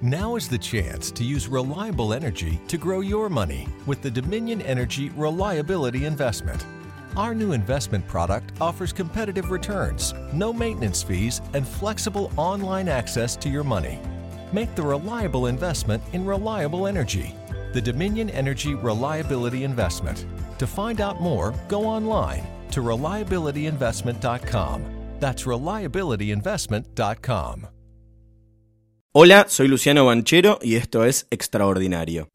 Now is the chance to use reliable energy to grow your money with the Dominion Energy Reliability Investment. Our new investment product offers competitive returns, no maintenance fees, and flexible online access to your money. Make the reliable investment in reliable energy. The Dominion Energy Reliability Investment. To find out more, go online to reliabilityinvestment.com. That's reliabilityinvestment.com. Hola, soy Luciano Banchero y esto es Extraordinario.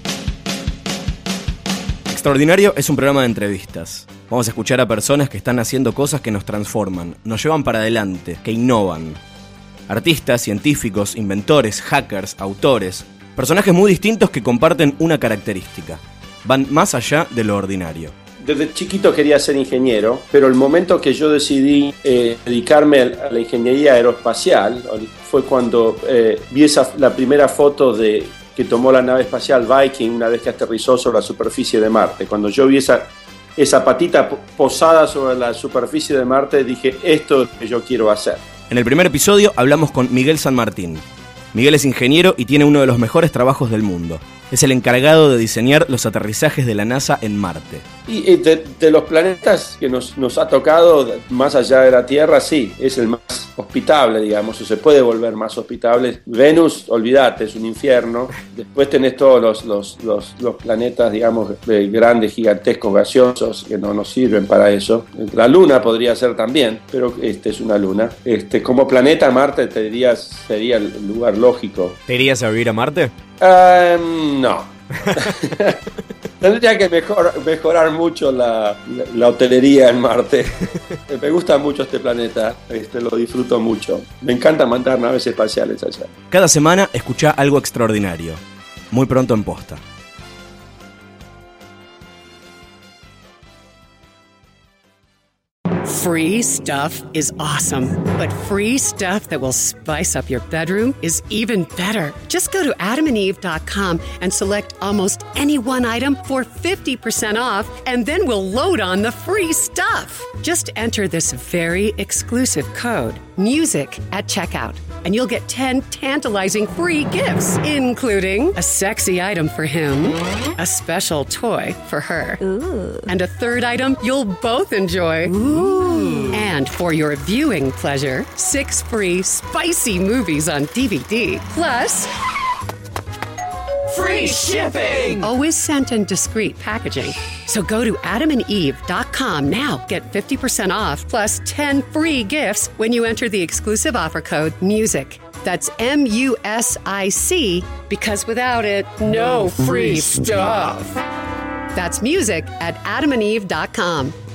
Extraordinario es un programa de entrevistas. Vamos a escuchar a personas que están haciendo cosas que nos transforman, nos llevan para adelante, que innovan. Artistas, científicos, inventores, hackers, autores, personajes muy distintos que comparten una característica. Van más allá de lo ordinario. Desde chiquito quería ser ingeniero, pero el momento que yo decidí dedicarme a la ingeniería aeroespacial fue cuando vi la primera foto que tomó la nave espacial Viking una vez que aterrizó sobre la superficie de Marte. Cuando yo vi esa patita posada sobre la superficie de Marte, dije, esto es lo que yo quiero hacer. En el primer episodio hablamos con Miguel San Martín. Miguel es ingeniero y tiene uno de los mejores trabajos del mundo. Es el encargado de diseñar los aterrizajes de la NASA en Marte. Y de los planetas que nos ha tocado, más allá de la Tierra, sí, es el más hospitable, digamos, o se puede volver más hospitable. Venus, olvídate, es un infierno. Después tenés todos los planetas, digamos, grandes, gigantescos, gaseosos, que no nos sirven para eso. La Luna podría ser también, pero es una luna. Como planeta, Marte, te diría, sería el lugar lógico. ¿Te irías a vivir a Marte? No. Tendría que mejorar mucho la hotelería en Marte. Me gusta mucho este planeta, lo disfruto mucho. Me encanta mandar naves espaciales allá. Cada semana escuchá algo extraordinario. Muy pronto en Posta. Free stuff is awesome, but free stuff that will spice up your bedroom is even better. Just go to adamandeve.com and select almost any one item for 50% off, and then we'll load on the free stuff. Just enter this very exclusive code, MUSIC, at checkout, and you'll get 10 tantalizing free gifts, including a sexy item for him, a special toy for her, ooh, and a third item you'll both enjoy. Ooh. And for your viewing pleasure, 6 free spicy movies on DVD, plus free shipping! Always sent in discreet packaging. So go to adamandeve.com now. Get 50% off plus 10 free gifts when you enter the exclusive offer code MUSIC. That's MUSIC, because without it, no free stuff. That's MUSIC at adamandeve.com.